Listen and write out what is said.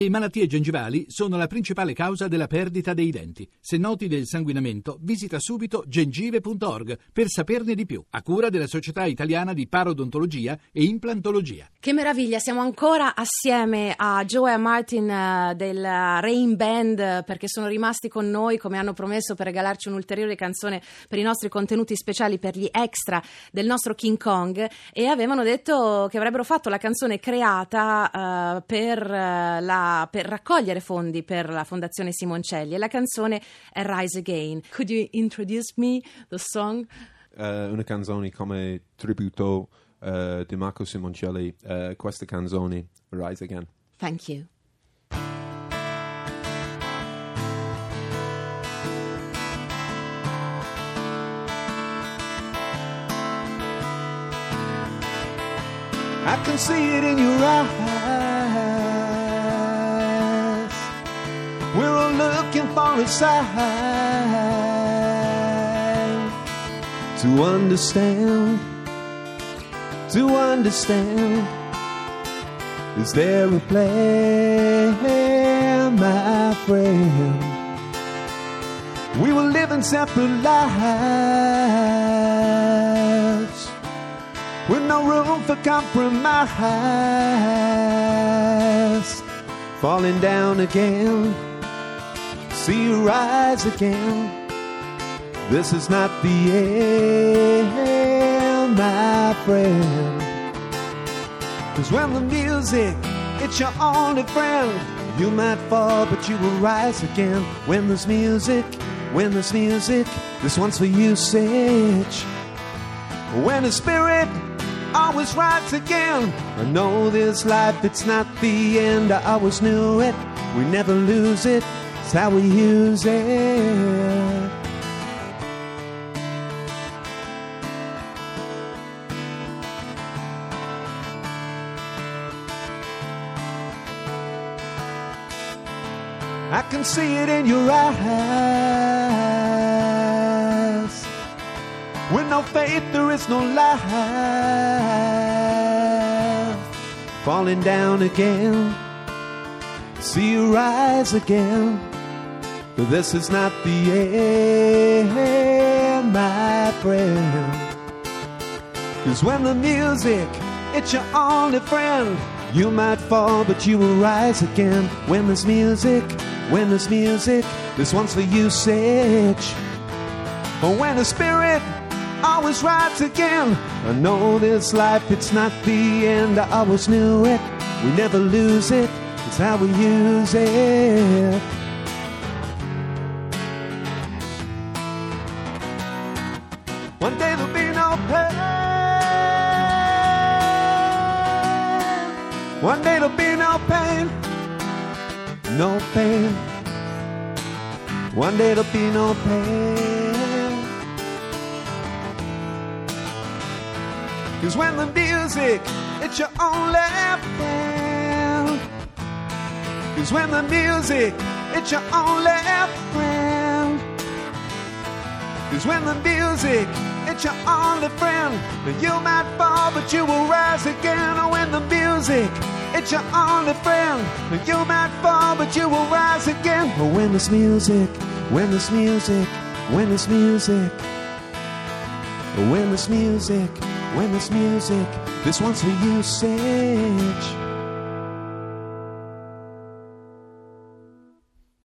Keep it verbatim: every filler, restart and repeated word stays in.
Le malattie gengivali sono la principale causa della perdita dei denti. Se noti del sanguinamento, visita subito gengive punto org per saperne di più, a cura della Società Italiana di Parodontologia e Implantologia. Che meraviglia, siamo ancora assieme a Joe e a Martin uh, del Rain Band, perché sono rimasti con noi, come hanno promesso, per regalarci un'ulteriore canzone per i nostri contenuti speciali, per gli extra del nostro King Kong, e avevano detto che avrebbero fatto la canzone creata uh, per uh, la per raccogliere fondi per la Fondazione Simoncelli, e la canzone è Rise Again. Could you introduce me the song? Uh, una canzone come tributo uh, di Marco Simoncelli, uh, questa canzone Rise Again. Thank you. I can see it in your eyes. We're all looking for a sign to understand, to understand. Is there a plan, my friend? We were living separate lives with no room for compromise. Falling down again, see you rise again. This is not the end, my friend. 'Cause when the music, it's your only friend, you might fall, but you will rise again. When there's music, when there's music, this one's for usage. When the spirit always rides again, I know this life, it's not the end. I always knew it, we never lose it. It's how we use it. I can see it in your eyes. With no faith there is no life. Falling down again, see you rise again. But this is not the end, my friend. 'Cause when the music, it's your only friend, you might fall, but you will rise again. When there's music, when there's music, this one's for usage. Or when the spirit always rides again, I know this life, it's not the end. I always knew it, we never lose it. It's how we use it. One day there'll be no pain. One day there'll be no pain. No pain. One day there'll be no pain. 'Cause when the music, it's your only friend. 'Cause when the music, it's your only friend. 'Cause when the music, it's your only friend. You might fall, but you will rise again. Oh, when the music, it's your only friend. You might fall, but you will rise again. Oh, when there's music, when there's music, when there's music. Oh, when there's music, when there's music, this one's for usage.